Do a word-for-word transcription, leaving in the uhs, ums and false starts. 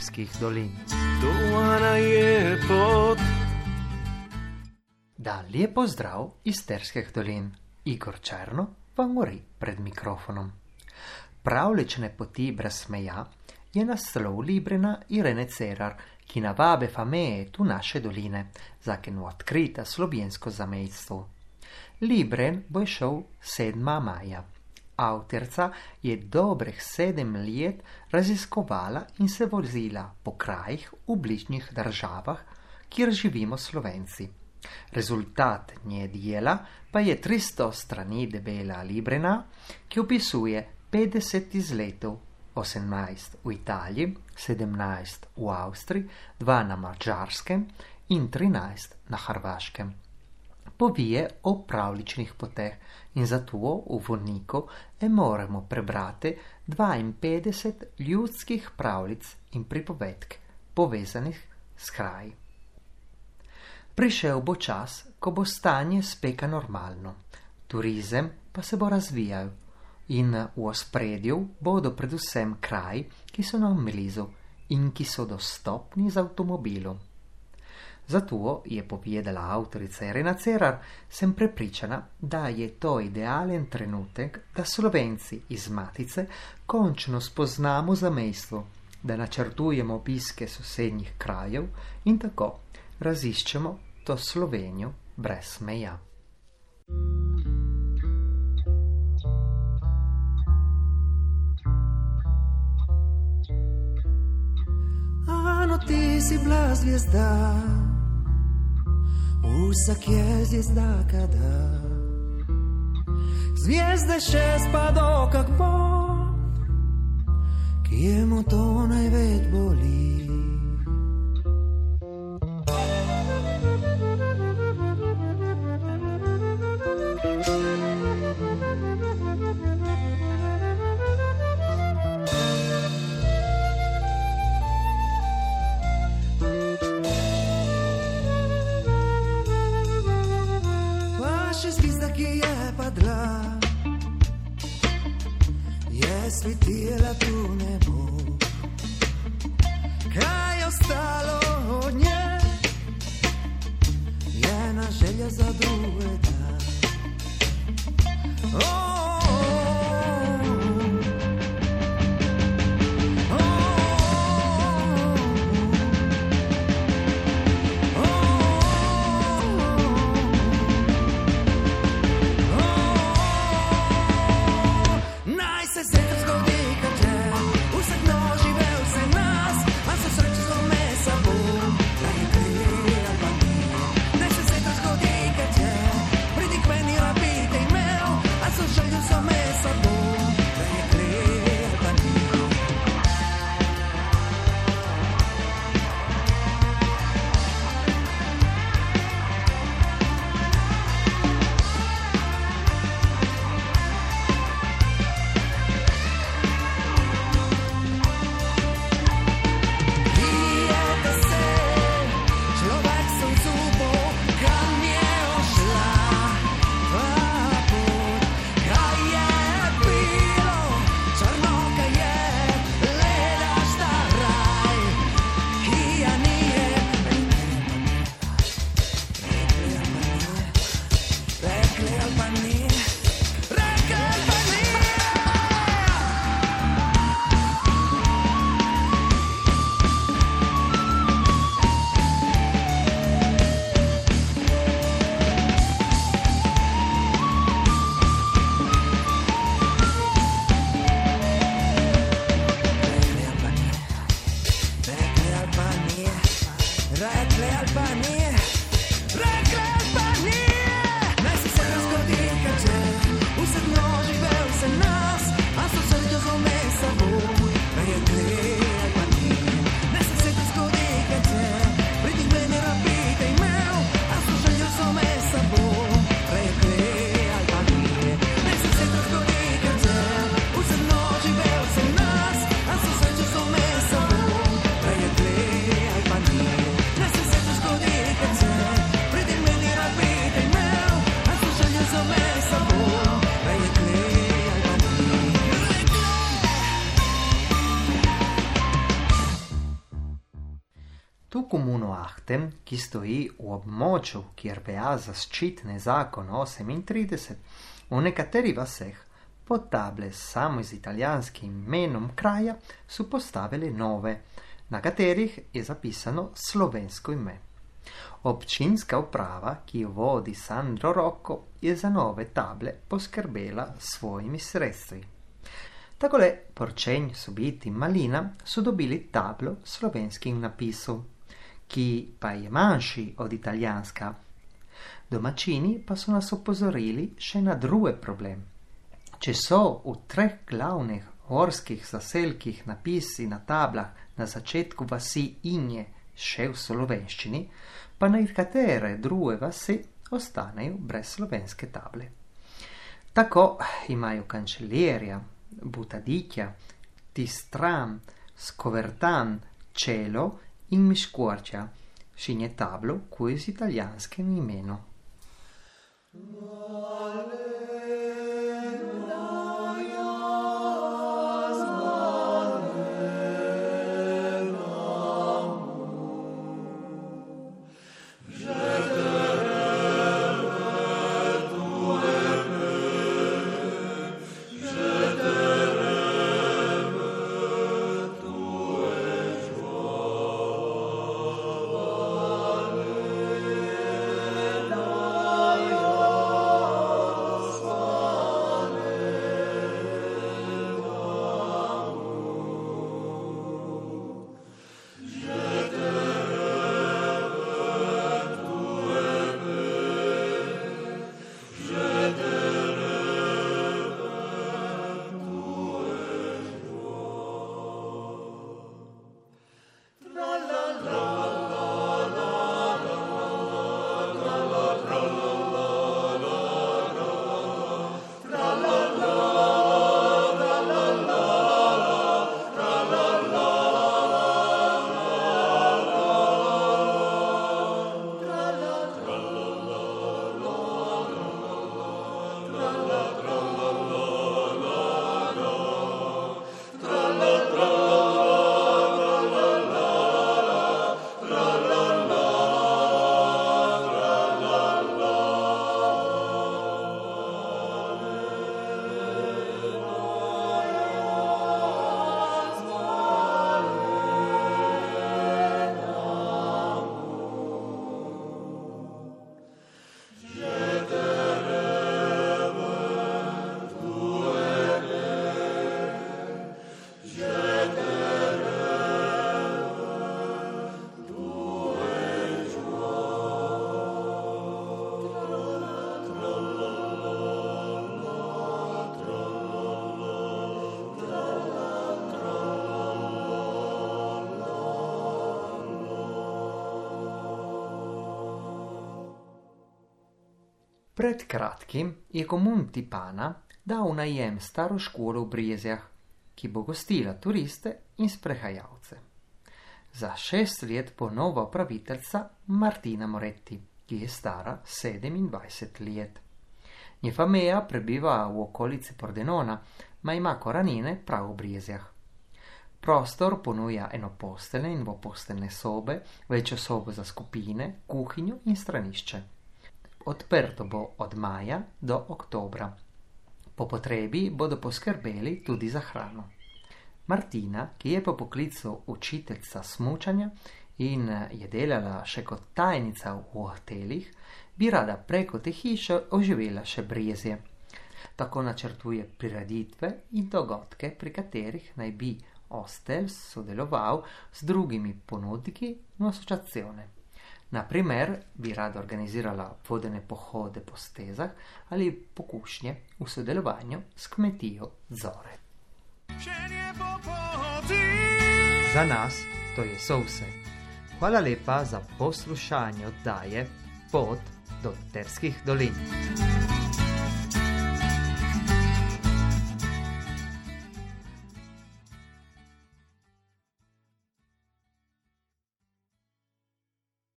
isterskih dolin. Dolana je pot. Da, lijep pozdrav iz isterskih dolin. Igor Černo vam govori pred mikrofonom. Pravlične poti brez meja je naslov Librena Irene Cerar, ki navabe fameje tu naše doline, zakenu odkrita slovensko zamejstvo. Libren bo šel sedmega maja. Avtorica je dobrih sedem let raziskovala in se vozila po krajih v bližnjih državah, kjer živimo Slovenci. Rezultat nje dela pa je tristo strani debela librena, ki opisuje petdeset izletov, osemnajst v Italiji, sedemnajst v Avstriji, dva na Madžarskem in trinajst na Hrvaškem. Povije o pravličnih poteh in zato v vodniku e moramo prebrati dvainpetdeset ljudskih pravlic in pripovedk, povezanih s kraji. Prišel bo čas, ko bo stanje speka normalno, turizem pa se bo razvijal in v ospredju bodo predvsem kraji, ki so nam blizu in ki so dostopni z avtomobilom. Zato je povedala avtorica Irena Cerar, sem prepričana, da je to idealen trenutek, da Slovenci iz Matice končno spoznamo zamejstvo, da načrtujemo obiske sosednjih krajev in tako raziščemo to Slovenijo brez meja. Ano, ti si bila zvijezda, vsak je zvijezda kada. Zvijezde šest pa do kak bo, ki je mu to največ boli. Zvizda, ki je padla, je svetila tu nebo. Kaj je ostalo od nje, je na želja za drugega. Oh, Rekle Albanije, rekle Albanije, naj se se razgodi, kad Šahte, ki stoji v območju, kjer velja zaščitni zakon osemintrideset, v nekaterih vaseh pod table samo z italijanskim imenom kraja so postavili nove, na katerih je zapisano slovensko ime. Občinska uprava, ki jo vodi Sandro Rocco, je za nove table poskrbela s svojimi sredstvi. Takole Porčenj, Subit in Malina so dobili tablo s slovenskim napisom, ki pa je manjši od italijanska. Domačini pa so nas opozorili še na drugi problem. Če so v treh glavnih gorskih zaselkih napisi na tablah na začetku vasi Inje še v slovenščini, pa nekatere druge vasi ostanejo brez slovenske table. Tako imajo Cancelleria, Butadicchia, Tistran, Scovertan, Celo in Miscuorcia, šinje tablo koje z italijanskim imenom. Pred kratkim je komun Tipana dal v najem staro školo v Brezjah, ki bo gostila turiste in sprehajalce. Za šest let bo nova upraviteljica Martina Moretti, ki je stara sedemindvajset let. Njena meja prebiva v okolici Pordenona, ma ima korenine prav v Brezjah. Prostor ponuja enoposteljne in dvoposteljne sobe, večjo sobo za skupine, kuhinjo in stranišče. Odprto bo od maja do oktobra. Po potrebi bodo poskrbeli tudi za hrano. Martina, ki je po poklicu učiteljica smučanja in je delala še kot tajnica v hotelih, bi rada preko te hiše oživela še Brezje. Tako načrtuje prireditve in dogodke, pri katerih naj bi hostel sodeloval s drugimi ponudniki in asociacione. Na primer, bi rada organizirala vodene pohode po stezah ali pokušnje v sodelovanju s kmetijo Zore. Za nas to je vse. Hvala lepa za poslušanje oddaje Pot do Terskih dolin.